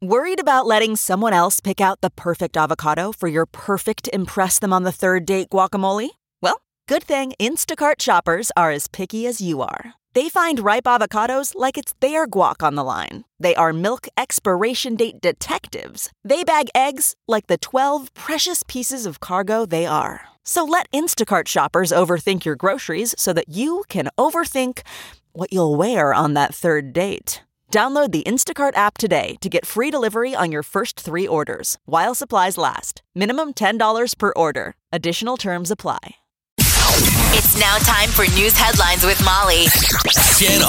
Worried about letting someone else pick out the perfect avocado for your perfect impress them on the third date guacamole? Well, good thing Instacart shoppers are as picky as you are. They find ripe avocados like it's their guac on the line. They are milk expiration date detectives. They bag eggs like the 12 precious pieces of cargo they are. So let Instacart shoppers overthink your groceries so that you can overthink what you'll wear on that third date. Download the Instacart app today to get free delivery on your first 3 orders, while supplies last. Minimum $10 per order. Additional terms apply. It's now time for news headlines with Molly. Channel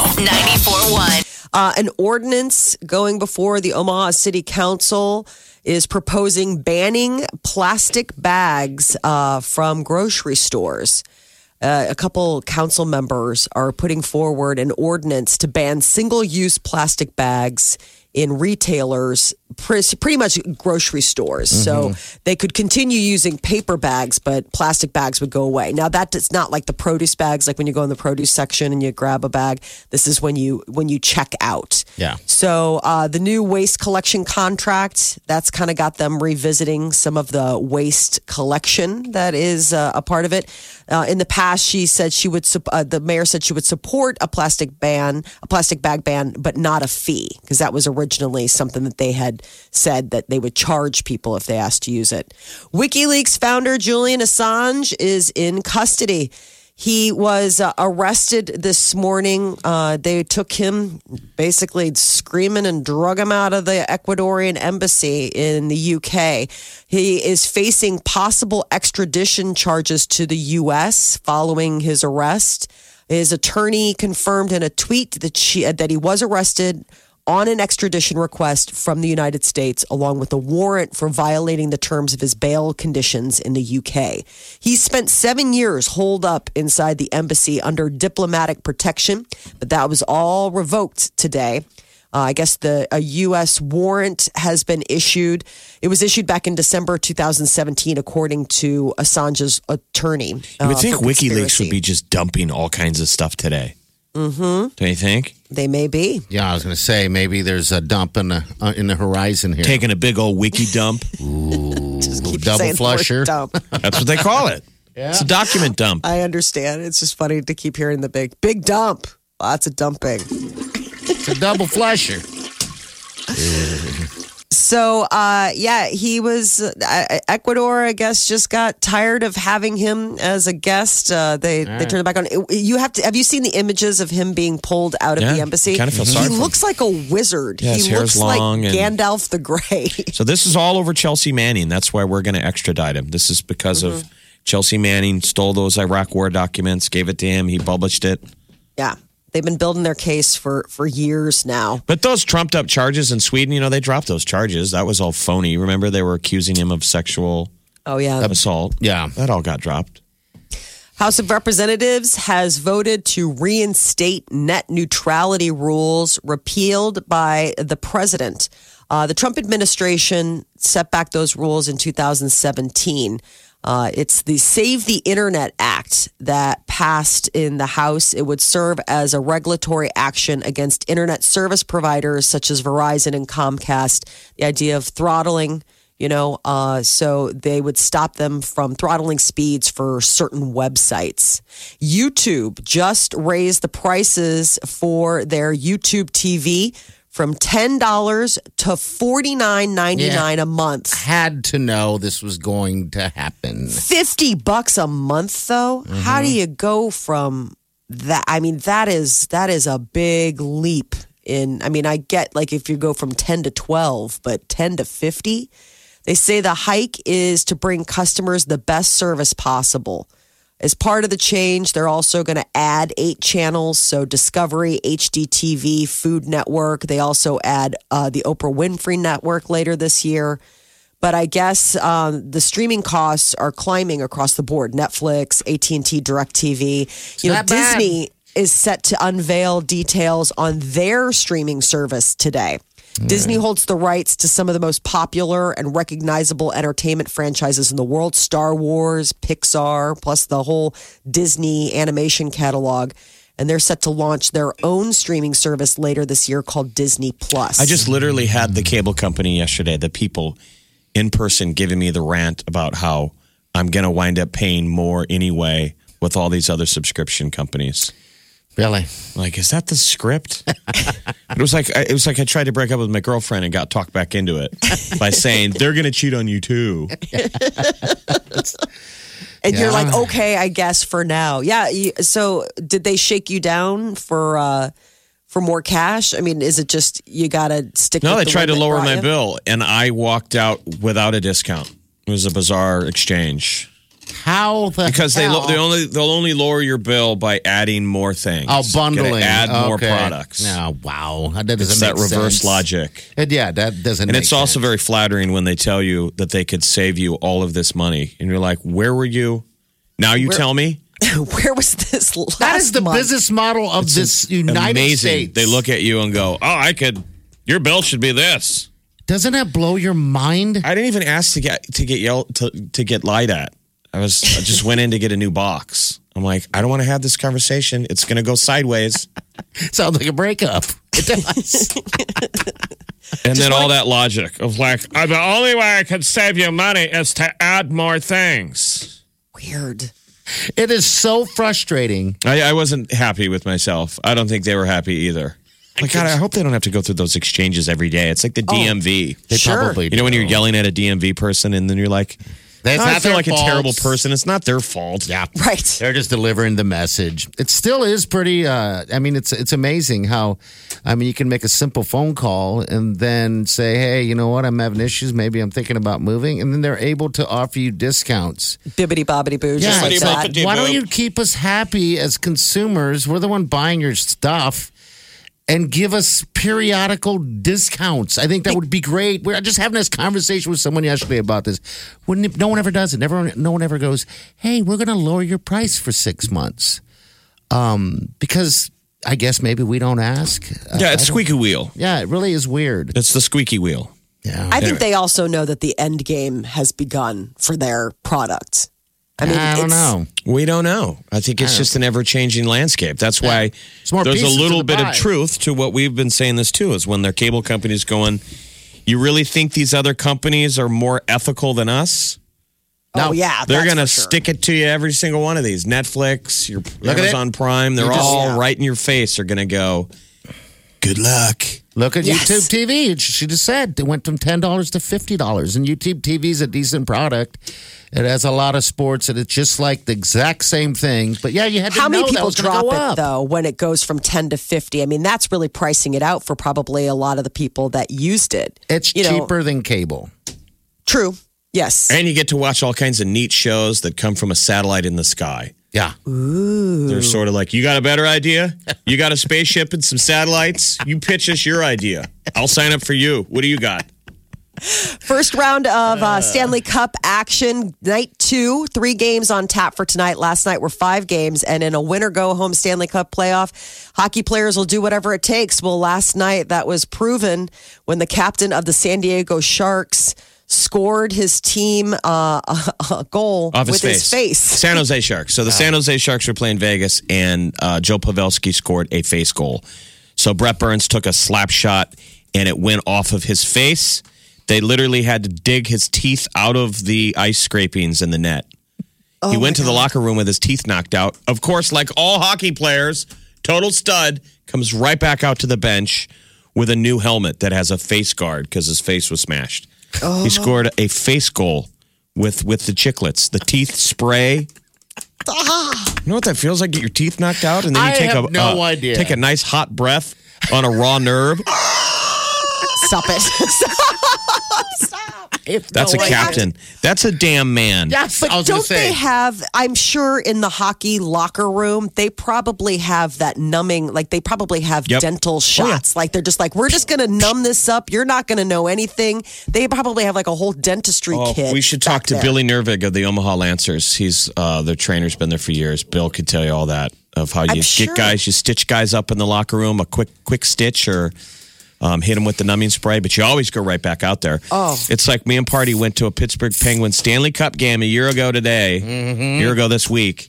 94.1. An ordinance going before the Omaha City Council is proposing banning plastic bags from grocery stores. A couple council members are putting forward an ordinance to ban single-use plastic bags in retailers, pretty much grocery stores. So they could continue using paper bags, but plastic bags would go away. Now, that's not like the produce bags, like when you go in the produce section and you grab a bag. This is when you check out. Yeah. So the new waste collection contract, that's kind of got them revisiting some of the waste collection that is a part of it. In the past, she said the mayor said she would support a plastic bag ban, but not a fee, because that was originally something that they had said that they would charge people if they asked to use it. WikiLeaks founder Julian Assange is in custody. He was arrested this morning. They took him basically screaming and drug him out of the Ecuadorian embassy in the UK. He is facing possible extradition charges to the U.S. following his arrest. His attorney confirmed in a tweet that he was arrested on an extradition request from the United States, along with a warrant for violating the terms of his bail conditions in the UK. He spent 7 years holed up inside the embassy under diplomatic protection, but that was all revoked today. I guess a U.S. warrant has been issued. It was issued back in December 2017, according to Assange's attorney. You would think WikiLeaks would be just dumping all kinds of stuff today. Mm-hmm. Do you think? They may be. Yeah, I was going to say maybe there's a dump in the horizon here. Taking a big old wiki dump. Ooh, just keep double flusher. Dump. That's what they call it. Yeah. It's a document dump. I understand. It's just funny to keep hearing the big dump. Lots of dumping. It's a double flusher. So, he was, Ecuador, I guess, just got tired of having him as a guest. They turned it back on. Have you seen the images of him being pulled out of the embassy? Kind of feel sorry He looks like a wizard. Yeah, his he hair's looks like long Gandalf the Grey. So this is all over Chelsea Manning. That's why we're going to extradite him. This is because of Chelsea Manning stole those Iraq war documents, gave it to him. He published it. Yeah. They've been building their case for years now. But those trumped up charges in Sweden, they dropped those charges. That was all phony. Remember, they were accusing him of sexual assault. Yeah, that all got dropped. House of Representatives has voted to reinstate net neutrality rules repealed by the president. The Trump administration set back those rules in 2017. It's the Save the Internet Act that passed in the House. It would serve as a regulatory action against internet service providers such as Verizon and Comcast. The idea of throttling, so they would stop them from throttling speeds for certain websites. YouTube just raised the prices for their YouTube TV from $10 to $49.99 a month. Had to know this was going to happen. $50 a month, though. How do you go from that? I mean, that is a big leap I get if you go from 10 to 12, but 10 to 50. They say the hike is to bring customers the best service possible. As part of the change, they're also going to add 8 channels. So Discovery, HDTV, Food Network. They also add the Oprah Winfrey Network later this year. But I guess the streaming costs are climbing across the board. Netflix, AT&T, DirecTV. Disney is set to unveil details on their streaming service today. Disney holds the rights to some of the most popular and recognizable entertainment franchises in the world. Star Wars, Pixar, plus the whole Disney animation catalog. and they're set to launch their own streaming service later this year called Disney Plus. I just literally had the cable company yesterday, the people in person giving me the rant about how I'm going to wind up paying more anyway with all these other subscription companies. Really? Like, is that the script? It was like I tried to break up with my girlfriend and got talked back into it by saying they're going to cheat on you too. And you're like, okay, I guess for now. Yeah. So did they shake you down for more cash? I mean, is it just you got to stick with No, they the tried to one that lower brought my you? bill, and I walked out without a discount. It was a bizarre exchange. How the Because hell? they'll only lower your bill by adding more things. Oh, bundling. Gotta add more Okay. products. Oh, wow. That doesn't It's make that reverse sense. logic. Yeah, that doesn't And make it's also sense. very flattering when they tell you that they could save you all of this money. And you're like, where were you? Now you tell me? Where was this last That is the month? business model of this United Amazing. States. They look at you and go, your bill should be this. Doesn't that blow your mind? I didn't even ask to get lied at. I just went in to get a new box. I'm like, I don't want to have this conversation. It's going to go sideways. Sounds like a breakup. It does. And then all that logic of like, the only way I could save you money is to add more things. Weird. It is so frustrating. I wasn't happy with myself. I don't think they were happy either. Like, God, I hope they don't have to go through those exchanges every day. It's like the DMV. They Sure. probably You know, when do. you're yelling at a DMV person and then you're like, It's I not feel their like fault. a terrible person. It's not their fault. Yeah. Right. They're just delivering the message. It still is pretty, I mean, it's amazing how, you can make a simple phone call and then say, hey, you know what? I'm having issues. Maybe I'm thinking about moving. And then they're able to offer you discounts. Bibbity bobbity boo, just like it's that. boppity. why don't you keep us happy as consumers? We're the one buying your stuff. And give us periodical discounts. I think that would be great. We're just having this conversation with someone yesterday about this. No one ever does it. No one ever goes, hey, we're going to lower your price for 6 months. Because I guess maybe we don't ask. Yeah, it's squeaky wheel. Yeah, it really is weird. It's the squeaky wheel. Yeah. I think they also know that the end game has begun for their product. I mean, I don't know. We don't know. I think it's just an ever-changing landscape. That's why more there's a pieces little to the bit of pie. truth to what we've been saying this too, is when their cable companies going, you really think these other companies are more ethical than us? Oh, yeah. They're that's going to for sure. stick it to you, every single one of these. Netflix, your Look at Amazon Prime, they're You just- all Yeah. right in your face. They're going to go, good luck. Look at Yes. YouTube TV. She just said it went from $10 to $50. And YouTube TV is a decent product. It has a lot of sports, and it's just like the exact same thing. But yeah, you had to How know many that people was gonna drop go it up. though when it goes from 10 to 50? I mean, that's really pricing it out for probably a lot of the people that used it. It's You know, cheaper than cable. True. Yes. And you get to watch all kinds of neat shows that come from a satellite in the sky. Yeah. They're sort of like, you got a better idea? You got a spaceship and some satellites? You pitch us your idea. I'll sign up for you. What do you got? First round of Stanley Cup action, night 2, 3 games on tap for tonight. Last night were 5 games, and in a winner-go-home Stanley Cup playoff, hockey players will do whatever it takes. Well, last night that was proven when the captain of the San Diego Sharks scored his team a goal Off with his face. San Jose Sharks. So the San Jose Sharks were playing Vegas, and Joe Pavelski scored a face goal. So Brett Burns took a slap shot, and it went off of his face. They literally had to dig his teeth out of the ice scrapings in the net. He went to the locker room with his teeth knocked out. Of course, like all hockey players, total stud, comes right back out to the bench with a new helmet that has a face guard because his face was smashed. He scored a face goal with the chiclets, the teeth spray. You know what that feels like? Get your teeth knocked out, and then you I take have no idea. Take a nice hot breath on a raw nerve. Stop it. That's a captain. That's a damn man. Yes, I But was going don't to say. they have, I'm sure in the hockey locker room, they probably have that numbing, like they probably have Yep. dental shots. Like they're just like, we're just going to numb this up. You're not going to know anything. They probably have like a whole dentistry kit. We should talk back to there. Billy Nervig of the Omaha Lancers. He's their trainer's been there for years. Bill could tell you all that of how you sure. get guys, you stitch guys up in the locker room, a quick stitch or hit them with the numbing spray, but you always go right back out there. Oh. It's like me and Party went to a Pittsburgh Penguins Stanley Cup game a year ago today, year ago this week,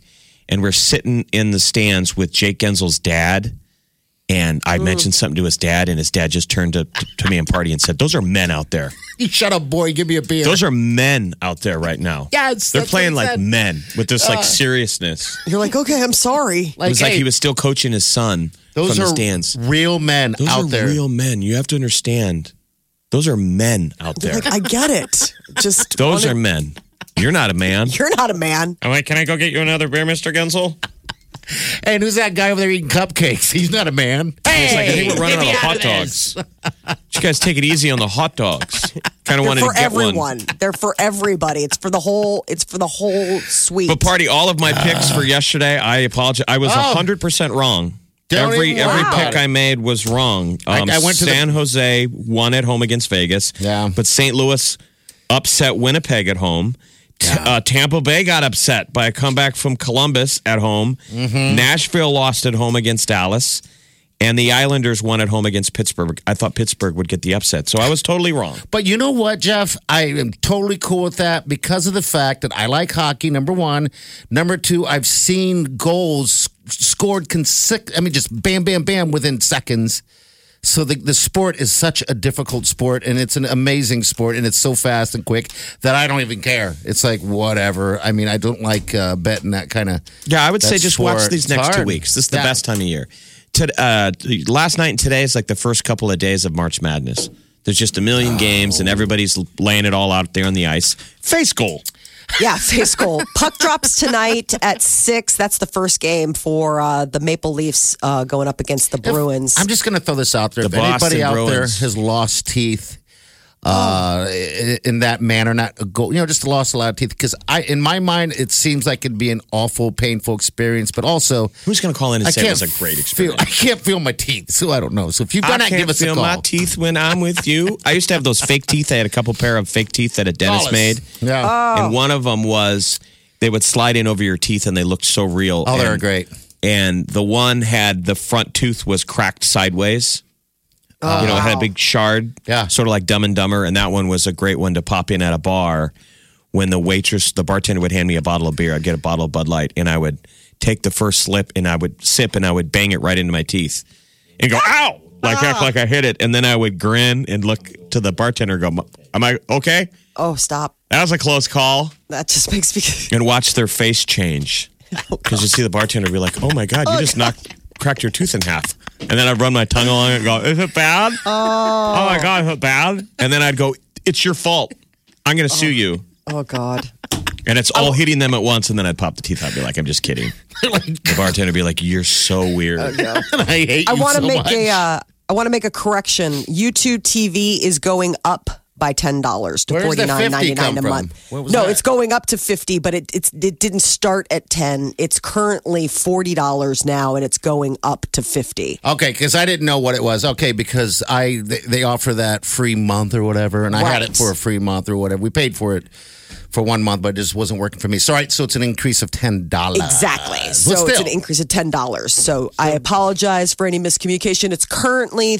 and we're sitting in the stands with Jake Gensel's dad. And I mentioned something to his dad, and his dad just turned to me and Party and said, "Those are men out there. You shut up, boy. Give me a beer." Those are men out there right now. Yes, they're that's playing what he like said. men with this like seriousness. You're like, okay, I'm sorry. It was like hey, he was still coaching his son those from the are stands. real men Those out are there. real men. You have to understand. Those are men out there. Like, I get it. Just Those are men. You're not a man. You're not a man. I'm like, can I go get you another beer, Mr. Gensel? And who's that guy over there eating cupcakes? He's not a man. It's like, I think we're running get me out of hot of this. dogs. You guys take it easy on the hot dogs. Kind of They're wanted for to get everyone. one. They're for everybody. It's for the whole suite. But Party, all of my picks for yesterday, I apologize. I was 100% wrong. Don't Every even worry about pick it. I made was wrong. I went to San Jose won at home against Vegas. Yeah. But St. Louis upset Winnipeg at home. Tampa Bay got upset by a comeback from Columbus at home. Nashville lost at home against Dallas. And the Islanders won at home against Pittsburgh. I thought Pittsburgh would get the upset. So I was totally wrong. But you know what, Jeff? I am totally cool with that because of the fact that I like hockey, number one. Number two, I've seen goals scored just bam, bam, bam within seconds. So the sport is such a difficult sport, and it's an amazing sport, and it's so fast and quick that I don't even care. It's like, whatever. I mean, I don't like betting that kind of. Yeah, I would say just watch sport. these It's next 2 hard. weeks. This is the Yeah. best time of year. Last night and today is like the first couple of days of March Madness. There's just a million games, and everybody's laying it all out there on the ice. Face goal. Yeah, face goal. Puck drops tonight at 6. That's the first game for the Maple Leafs going up against the Bruins. I'm just going to throw this out there. The If anybody Boston out there Bruins. has lost teeth in that manner, not a goal, just lost a lot of teeth. Because in my mind, it seems like it'd be an awful, painful experience. But also, Who's going to call in and say it was a great experience? I can't feel my teeth, so I don't know. So if you've done that, give us a feel call. my teeth when I'm with you. I used to have those fake teeth. I had a couple pair of fake teeth that a dentist made. Yeah. And one of them was they would slide in over your teeth and they looked so real. Oh, they were And- great. And the one had the front tooth was cracked sideways. It had a big shard. Yeah. Sort of like Dumb and Dumber. And that one was a great one to pop in at a bar when the bartender would hand me a bottle of beer. I'd get a bottle of Bud Light and I would take the first sip and I would sip and I would bang it right into my teeth and go, ow! Like I hit it. And then I would grin and look to the bartender and go, am I okay? Oh, stop. That was a close call. That just makes me... And watch their face change. Because you see the bartender be like, oh my God, you just cracked your tooth in half. And then I'd run my tongue along it and go, is it bad? Oh my God, is it bad? And then I'd go, it's your fault. I'm going to sue you. Oh, God. And it's all hitting them at once. And then I'd pop the teeth out and be like, I'm just kidding. The bartender would be like, you're so weird. I hate I you want to so make much. I want to make a correction. YouTube TV is going up by $10 to Where's the $50 $49.99 come a from? month. What was No, that? it's going up to $50, but it didn't start at $10. It's currently $40 now, and it's going up to $50. Okay, because I didn't know what it was. Okay, because they offer that free month or whatever, and I had Right. it for a free month or whatever. We paid for it for 1 month, but it just wasn't working for me. So, so it's an increase of $10. Exactly. But So it's still. an increase of $10. So I apologize for any miscommunication. It's currently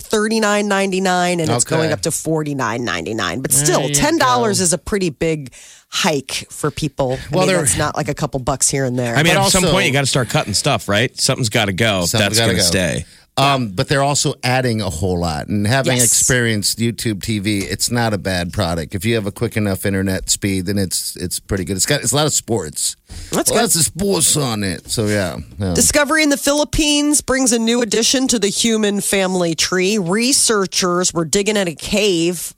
$39.99 and it's Okay. going up to $49.99. But still, There you $10 go. is a pretty big hike for people. I Well, mean, they're- that's not like a couple bucks here and there. I mean, But at some also- point, you got to start cutting stuff, right? Something's got to go. Something's That's gotta going to go. stay. But they're also adding a whole lot. And having Yes. experienced YouTube TV, it's not a bad product. If you have a quick enough internet speed, then it's pretty good. It's a lot of sports. That's Lots of sports on it. So yeah. Discovery in the Philippines brings a new addition to the human family tree. Researchers were digging in a cave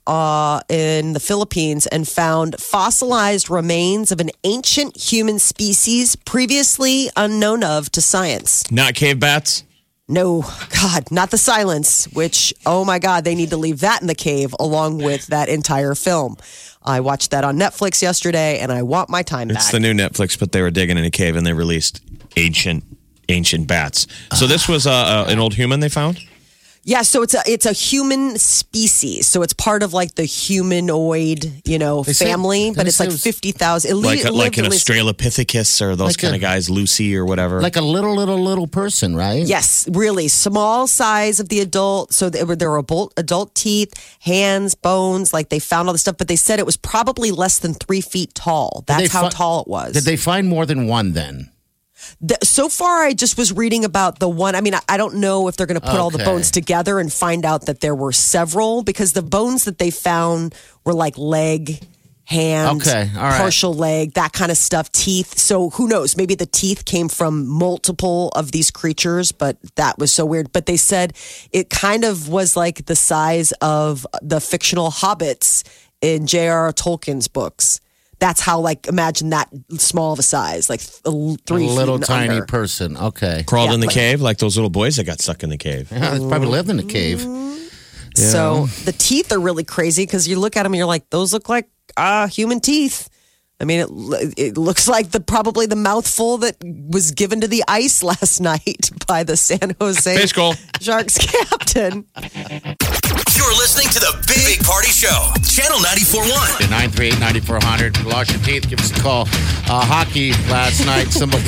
in the Philippines and found fossilized remains of an ancient human species previously unknown of to science. Not cave bats? No, God, not the silence, which, oh my God, they need to leave that in the cave along with that entire film. I watched that on Netflix yesterday and I want my time It's back. the new Netflix, but they were digging in a cave and they released ancient bats. So this was an old human they found? Yeah, so it's a human species. So it's part of like the humanoid, They say- family, but they it's say like it was- 50,000. Like an Australopithecus or those Like kind a- of guys, Lucy or whatever. Like a little person, right? Yes, really small size of the adult. So there were adult teeth, hands, bones. Like they found all the stuff, but they said it was probably less than 3 feet tall. That's how tall it was. Did they find more than one then? So far, I just was reading about the one. I mean, I don't know if they're going to put all the bones together and find out that there were several, because the bones that they found were like leg, hand, partial leg, that kind of stuff, teeth. So who knows? Maybe the teeth came from multiple of these creatures, but that was so weird. But they said it kind of was like the size of the fictional hobbits in J.R.R. Tolkien's books. That's how, like, imagine that small of a size, like 3 feet. A little and tiny under. person. Okay. Crawled in the cave like those little boys that got stuck in the cave. Yeah, they probably lived in the cave. So the teeth are really crazy because you look at them and you're like, those look like human teeth. I mean, it looks like probably the mouthful that was given to the ice last night by the San Jose Face goal. Sharks captain. You're listening to the Big Party Show, Channel 94.1. 938-9400. Lost your teeth, give us a call. Hockey last night, somebody...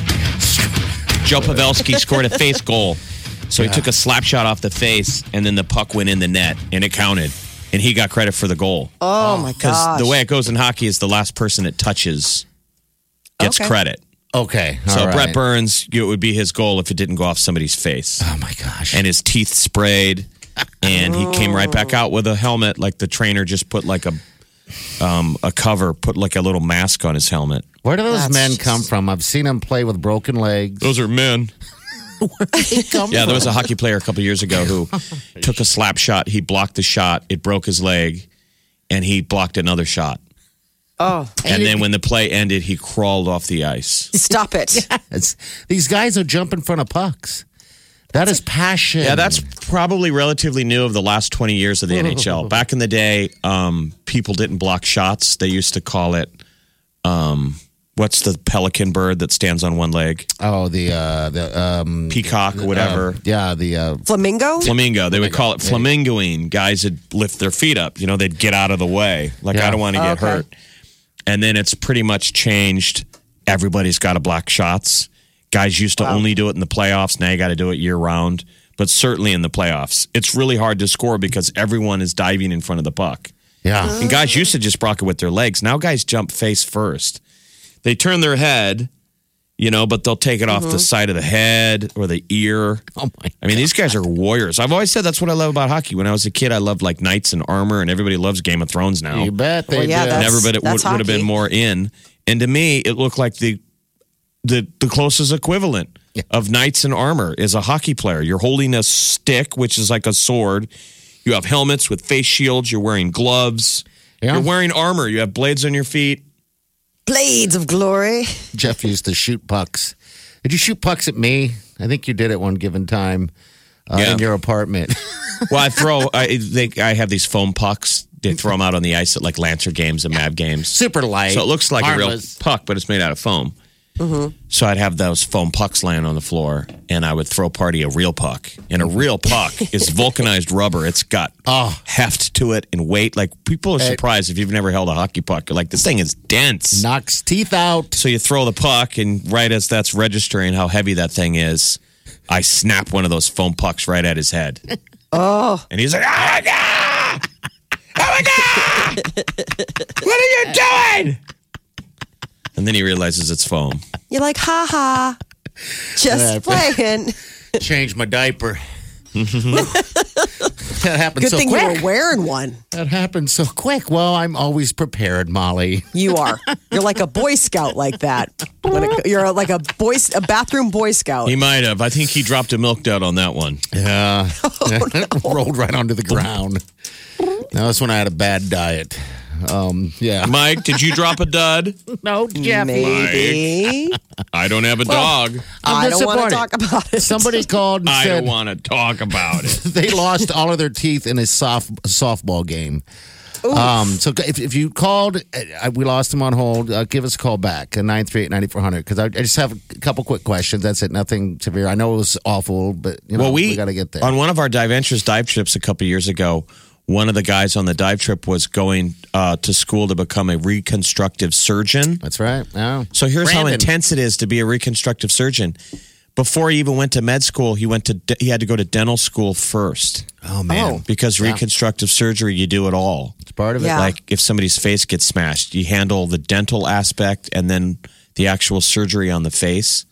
Joe Pavelski scored a face goal. So he took a slap shot off the face, and then the puck went in the net, and it counted. And he got credit for the goal. Oh, my Because gosh. the way it goes in hockey is the last person it touches gets credit. Okay, So all right. Brett Burns, it would be his goal if it didn't go off somebody's face. Oh, my gosh. And his teeth sprayed, and he came right back out with a helmet, like the trainer just put like a cover, put like a little mask on his helmet. Where do those That's men just- come from? I've seen them play with broken legs. Those are men. Yeah, there was a hockey player a couple years ago who took a slap shot. He blocked the shot. It broke his leg, and he blocked another shot. Oh, And then when the play ended, he crawled off the ice. stop it. These guys will jump in front of pucks. That is passion. Yeah, that's probably relatively new of the last 20 years of the NHL. Back in the day, people didn't block shots. They used to call it, what's the pelican bird that stands on one leg? Oh, the Peacock or whatever. the Flamingo? Flamingo. They would call it flamingoing. Guys would lift their feet up. You know, they'd get out of the way. Like, Yeah. I don't want to get Okay. hurt. And then it's pretty much changed. Everybody's got to block shots. Guys used to only do it in the playoffs. Now you got to do it year round. But certainly in the playoffs, it's really hard to score because everyone is diving in front of the puck. yeah. And guys used to just block it with their legs. Now guys jump face first. They turn their head, you know, but they'll take it off the side of the head or the ear. Oh my! I mean, these guys are warriors. I've always said that's what I love about hockey. When I was a kid, I loved like knights in armor, and everybody loves Game of Thrones now. You bet they Well, yeah, do. that's- Never, but it would have been hockey. more in. And to me, it looked like the closest equivalent of knights in armor is a hockey player. You're holding a stick, which is like a sword. You have helmets with face shields. You're wearing gloves. Yeah. You're wearing armor. You have blades on your feet. Blades of glory. Jeff used to shoot pucks. Did you shoot pucks at me? I think you did at one given time Yeah. in your apartment. Well, I have these foam pucks. They throw them out on the ice at like Lancer games and Mavs games. Super light. So it looks like harmless. a real puck, but it's made out of foam. So I'd have those foam pucks laying on the floor, and I would throw Party a real puck. And a real puck is vulcanized rubber. It's got heft to it and weight. Like, people are surprised if you've never held a hockey puck. You're like, this thing is dense. Knocks teeth out. So you throw the puck, and right as that's registering how heavy that thing is, I snap one of those foam pucks right at his head. Oh. And he's like, oh my God! Oh my God! What are you doing? And then he realizes it's foam. You're like, ha ha. Just playing. Change my diaper. That happened Good so thing quick. you were wearing one. That happened so quick. Well, I'm always prepared, Molly. You are. You're like a Boy Scout like that. You're like a bathroom Boy Scout. He might have. I think he dropped a milk dud on that one. Yeah. Rolled right onto the ground. That was when I had a bad diet. Yeah. Mike, did you drop a dud? No, Jeffy. Maybe. I don't have a dog. I don't want to disappointed. talk about it. Somebody called and I said don't want to talk about it. they lost all of their teeth in a softball game. So if you called, we lost them on hold. Give us a call back at 938-9400 because I just have a couple quick questions. That's it. Nothing severe. I know it was awful, but you know, Well, we got to get there. On one of our Dive Ventures dive trips a couple years ago, one of the guys on the dive trip was going to school to become a reconstructive surgeon. That's right. Yeah. So here's how Brandon. intense it is to be a reconstructive surgeon. Before he even went to med school, he had to go to dental school first Oh man, because reconstructive surgery, you do it all. it's part of it. Yeah. Like if somebody's face gets smashed, you handle the dental aspect and then the actual surgery on the face.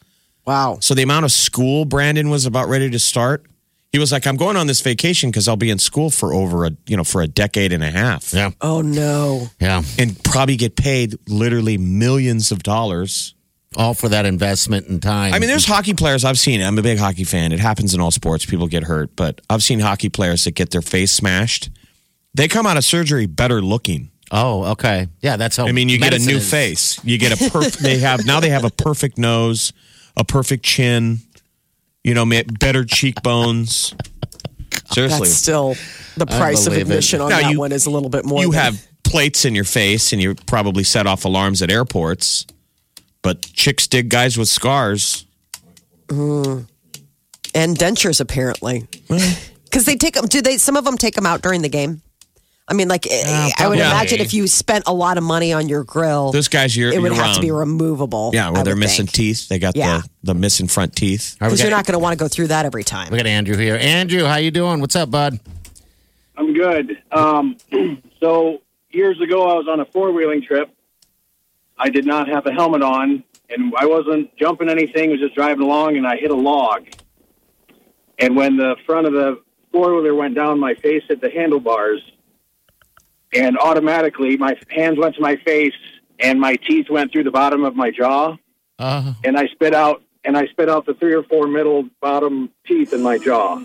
Wow. So the amount of school Brandon was about ready to start, he was like, I'm going on this vacation because I'll be in school for for a decade and a half. Yeah. Oh, no. Yeah. And probably get paid literally millions of dollars. All for that investment in time. I mean, there's hockey players I've seen. I'm a big hockey fan. It happens in all sports. People get hurt. But I've seen hockey players that get their face smashed. They come out of surgery better looking. Oh, okay. Yeah, that's how. I mean, you get a medicine new is. face. You get a perfect. They have a perfect nose, a perfect chin. Better cheekbones. Seriously, That's still the price of believe it. admission on Now, that you- one is a little bit more. you than- have plates in your face, and you probably set off alarms at airports. But chicks dig guys with scars. and dentures apparently, because they take them. Some of them take them out during the game. I mean, like I would probably. imagine if you spent a lot of money on your grill, Those guys, it would you're have to be around. removable. Yeah, where I they're would missing think. teeth. They got Yeah. the missing front teeth. All right, we Because you're got- not going to want to go through that every time. We got Andrew here. Andrew, how you doing? What's up, bud? I'm good. So years ago, I was on a four-wheeling trip. I did not have a helmet on, and I wasn't jumping anything. I was just driving along, and I hit a log. And when the front of the four-wheeler went down, my face hit the handlebars, and automatically my hands went to my face, and my teeth went through the bottom of my jaw, and I spit out the 3 or 4 middle bottom teeth in my jaw.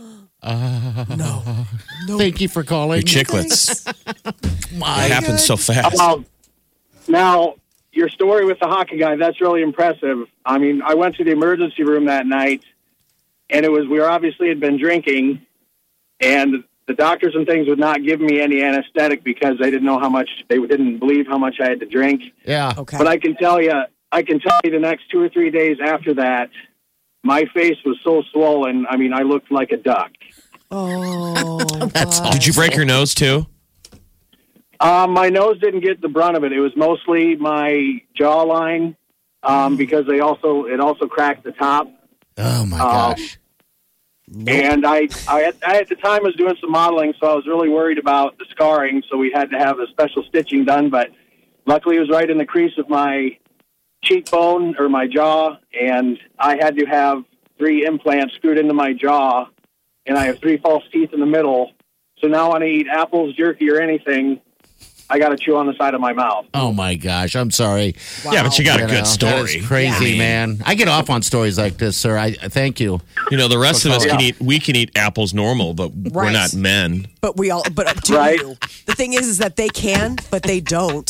Thank you for calling. Your chiclets. My It happens so fast. Now, your story with the hockey guy, that's really impressive. I mean, I went to the emergency room that night, and we obviously had been drinking, and the doctors and things would not give me any anesthetic because they didn't believe how much I had to drink. Yeah. Okay. But I can tell you the next 2 or 3 days after that, my face was so swollen. I mean, I looked like a duck. Oh, That's all. Did you break your nose too? My nose didn't get the brunt of it. It was mostly my jawline because it also cracked the top. Oh my gosh. And I at the time was doing some modeling, so I was really worried about the scarring. So we had to have a special stitching done. But luckily, it was right in the crease of my cheekbone or my jaw, and I had to have 3 implants screwed into my jaw, and I have 3 false teeth in the middle. So now when I eat apples, jerky, or anything, I got to chew on the side of my mouth. Oh my gosh. I'm sorry. Yeah, but you got a good That story. is crazy, man. I get off on stories like this, sir. I thank you. The rest of us Yeah. can eat apples normal, but we're Right. not men. but do Right. you? The thing is that they can, but they don't.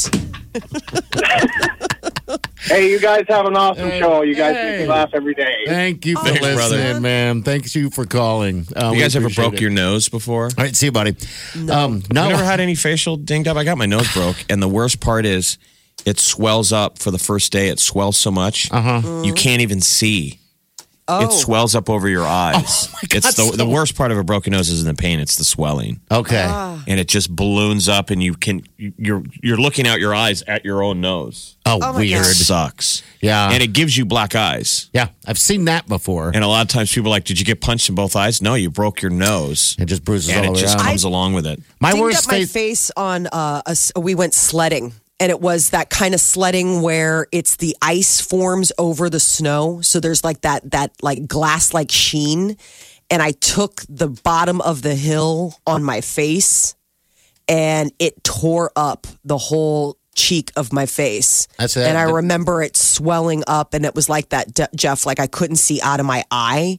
Hey, you guys have an awesome show. You guys make Hey. me laugh every day. Thank you for Thanks, listening, brother. man. Thank you for calling. You guys ever broke your nose before? All right, see you, buddy. No. You never had any facial dinged up? I got my nose broke, and the worst part is it swells up for the first day. It swells so much you can't even see. It swells up over your eyes. Oh, my God, It's the worst part of a broken nose isn't the pain; it's the swelling, Okay. and it just balloons up, and you're looking out your eyes at your own nose. Oh, weird. It sucks. Yeah. and it gives you black eyes. Yeah, I've seen that before. And a lot of times people are like, "Did you get punched in both eyes?" No, you broke your nose, It just bruises and all it the way just around. comes along with it. My Dinged worst up my face. face on we went sledding, and it was that kind of sledding where it's the ice forms over the snow, so there's like that like glass like sheen, and I took the bottom of the hill on my face, and it tore up the whole cheek of my face. That's it. And I remember it swelling up, and it was like that, Jeff, like I couldn't see out of my eye,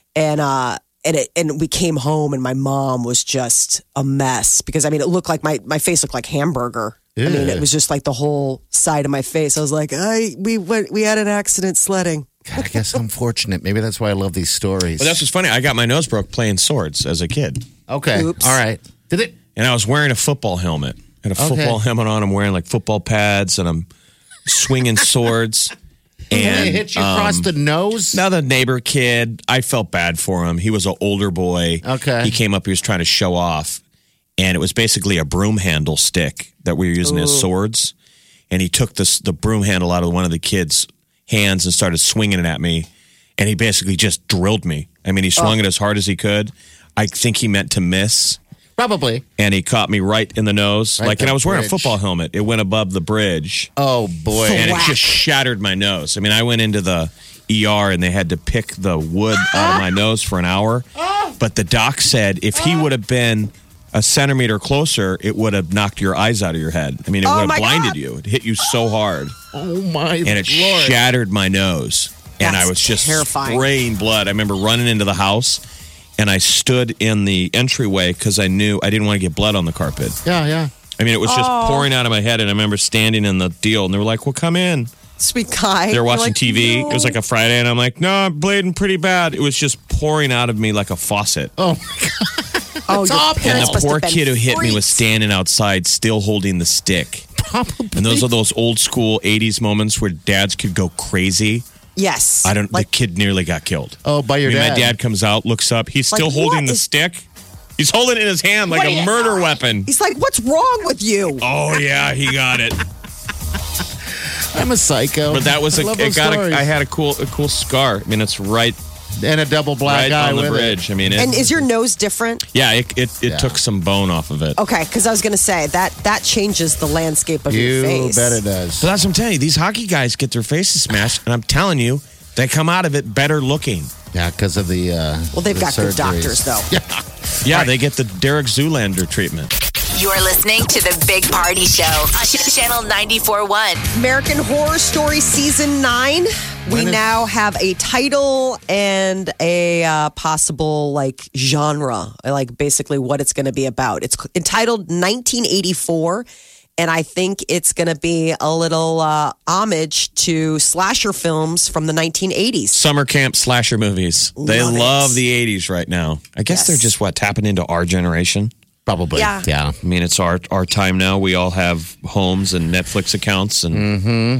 and we came home, and my mom was just a mess because it looked like my face looked like hamburger. I mean, it was just like the whole side of my face. I was like, we had an accident sledding. God, I guess I'm fortunate. Maybe that's why I love these stories. But that's what's funny. I got my nose broke playing swords as a kid. okay. Oops. All right. Did it? And I was wearing a football helmet. I had a football helmet on. I'm wearing like football pads and I'm swinging swords. And it hit you across the nose? Now the neighbor kid, I felt bad for him. He was an older boy. Okay. He came up, he was trying to show off. And it was basically a broom handle stick that we were using as swords. And he took the broom handle out of one of the kids' hands and started swinging it at me. And he basically just drilled me. I mean, he swung it as hard as he could. I think he meant to miss. Probably. And he caught me right in the nose. Right And the I was wearing a bridge. football helmet. It went above the bridge. Oh, boy. And it Whack. just shattered my nose. I mean, I went into the ER and they had to pick the wood out of my nose for an hour. But the doc said if he would have been a centimeter closer, it would have knocked your eyes out of your head. I mean, it would have blinded you. It hit you so hard. Oh, my And it Lord. shattered my nose. And I That's was just terrifying. spraying blood. I remember running into the house and I stood in the entryway because I knew I didn't want to get blood on the carpet. Yeah. I mean, it was just pouring out of my head. And I remember standing in the deal and they were like, well, come in. Sweet guy. They were watching You're like, TV. "No." It was like a Friday. And I'm like, no, I'm bleeding pretty bad. It was just pouring out of me like a faucet. Oh, my God. Oh, your awful. And parents the must poor have been kid who hit me was freaks. standing outside still holding the stick. Probably. And those are those old school 80s moments where dads could go crazy. Yes. The kid nearly got killed. Oh, by your My dad. dad comes out, looks up. He's Like, still holding what the is- stick. He's holding it in his hand like a murder weapon. He's like, what's wrong with you? Oh, yeah, he got it. I'm a psycho. But that was I love those stories. I had a cool scar. I mean, it's right And a double black eye on the with bridge. I mean, And is your nose different? it took some bone off of it. Okay, because I was going to say that changes the landscape of it. your You face. bet it does. So that's what I'm telling you. These hockey guys get their faces smashed, and I'm telling you, they come out of it better looking. Yeah, because of the Well, they've the got good surgeries. doctors, though. Yeah, they get the Derek Zoolander treatment. You're listening to the Big Party Show on Channel 94.1. American Horror Story Season 9. We now have a title and a possible like genre, like basically what it's going to be about. It's entitled 1984. And I think it's going to be a little homage to slasher films from the 1980s. Summer camp slasher movies. They Love it. love the 80s right now. I guess Yes. they're just tapping into our generation. Probably. Yeah. Yeah. I mean, it's our time now. We all have homes and Netflix accounts, and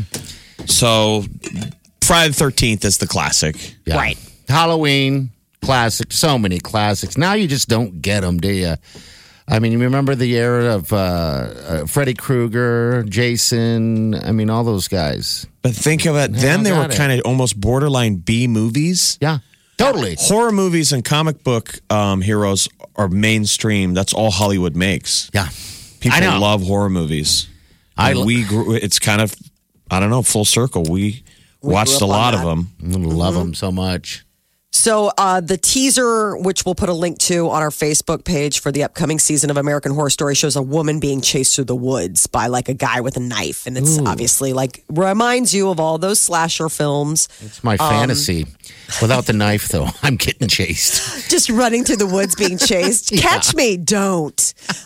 so Friday the 13th is the classic. Yeah. Right. Halloween, classic. So many classics. Now you just don't get them, do you? I mean, you remember the era of Freddy Krueger, Jason. I mean, all those guys. But think of it. Then they were got it. kind of almost borderline B movies. Yeah. Totally. Horror movies and comic book heroes are mainstream. That's all Hollywood makes. Yeah. People I know. love horror movies. I And we grew. It's kind of, I don't know, full circle. We watched grew a up on lot of that. them. love them so much. So the teaser, which we'll put a link to on our Facebook page for the upcoming season of American Horror Story, shows a woman being chased through the woods by like a guy with a knife. And it's obviously like reminds you of all those slasher films. It's my fantasy. Without the knife, though, I'm getting chased. Just running through the woods being chased. Catch me, don't.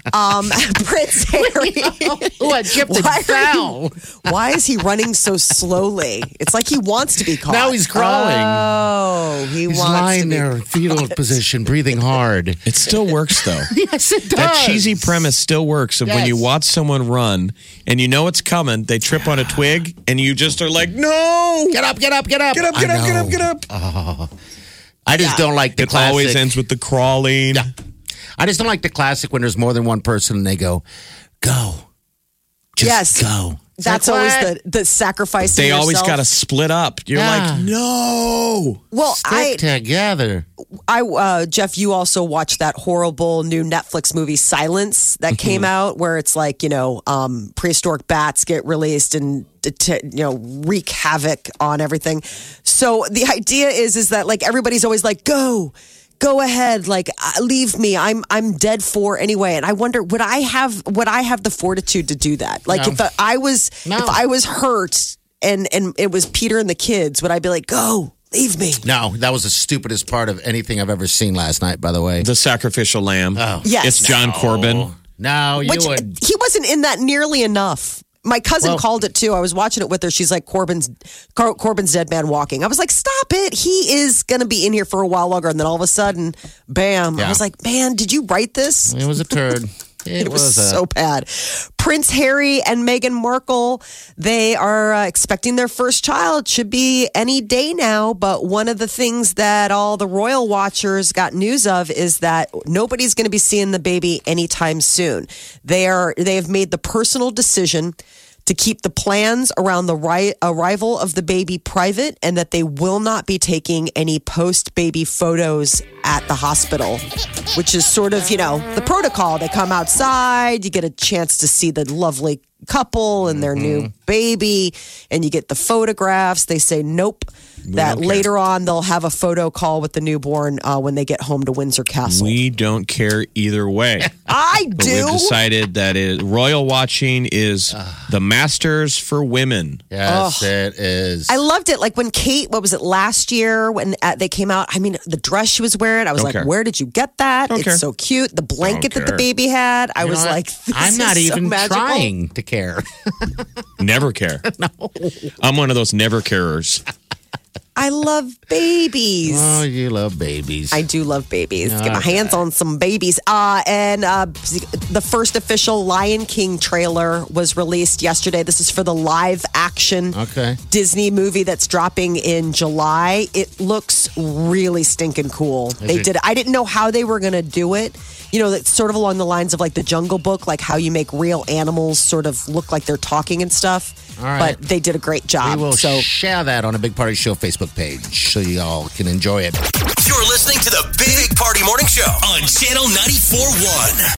Prince Harry. Oh, I chipped and Why are fell. Why is he running so slowly? It's like he wants to be caught. Now he's crawling. Oh, he He's wants to lying be there, fetal position, breathing hard. It still works though. Yes, it does. That cheesy premise still works of when you Yes. watch someone run and you know it's coming, they trip on a twig and you just are like, no! Get up, get up, get up. Get up, I get up, get know. up, get up. I just don't like the It classic. always ends with the crawling. Yeah. I just don't like the classic when there's more than one person and they go, go. Just Yes. go. It's That's like, always what? the sacrifice. They always yourself. got to split up. You're Yeah. like, no! Well, Stick together. Jeff, you also watched that horrible new Netflix movie Silence that came out, where it's like prehistoric bats get released and wreak havoc on everything. So the idea is that like everybody's always like, go ahead, like leave me. I'm dead for anyway. And I wonder, would I have the fortitude to do that? Like No. if I was hurt and it was Peter and the kids, would I be like, go? Leave me. No, that was the stupidest part of anything I've ever seen last night, by the way. The sacrificial lamb. Oh. Yes. It's John Corbin. No, you Which would. he wasn't in that nearly enough. My cousin Well- called it too. I was watching it with her. She's like, Corbin's dead man walking. I was like, stop it. He is going to be in here for a while longer. And then all of a sudden, bam. I Yeah. was like, man, did you write this? It was a turd. It was so bad. Prince Harry and Meghan Markle, they are expecting their first child. Should be any day now. But one of the things that all the royal watchers got news of is that nobody's going to be seeing the baby anytime soon. They have made the personal decision to keep the plans around the arrival of the baby private, and that they will not be taking any post-baby photos at the hospital, which is sort of, the protocol. They come outside, you get a chance to see the lovely couple and their new baby, and you get the photographs. They say nope. That later on they'll have a photo call with the newborn when they get home to Windsor Castle. We don't care either way. I But do. we've decided that royal watching is the Masters for women. Yes, it is. I loved it. Like when Kate, what was it, last year when they came out? I mean, the dress she was wearing, I was Don't like, care. where did you get that? Don't It's care. so cute. The blanket that the care. baby had, I You know was what? like, this I'm not is so even magical. trying to care. Never care. No. I'm one of those never carers. I love babies. Oh, you love babies. I do love babies. Get my hands on some babies. And the first official Lion King trailer was released yesterday. This is for the live action Disney movie that's dropping in July. It looks really stinking cool. I didn't know how they were going to do it. You know, it's sort of along the lines of like the Jungle Book, like how you make real animals sort of look like they're talking and stuff. All right. But they did a great job. We will share that on a Big Party Show Facebook page so you all can enjoy it. You're listening to the Big Party Morning Show on Channel 94.1.